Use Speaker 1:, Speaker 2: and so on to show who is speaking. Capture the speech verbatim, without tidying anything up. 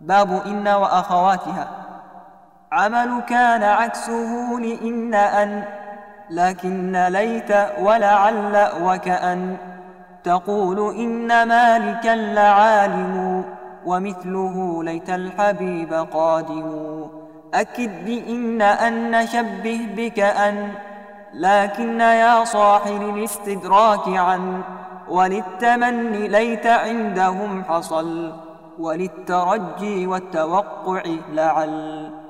Speaker 1: باب إن وأخواتها. عمل كان عكسه لإن أن، لكن ليت ولعل وكأن. تقول إن مالكا لعالم، ومثله ليت الحبيب قادم. أكد بإن أن شبه بكأن، لكن يا صاحب الاستدراك عن. وللتمني ليت عندهم حصل، وللترجي والتوقع لعل.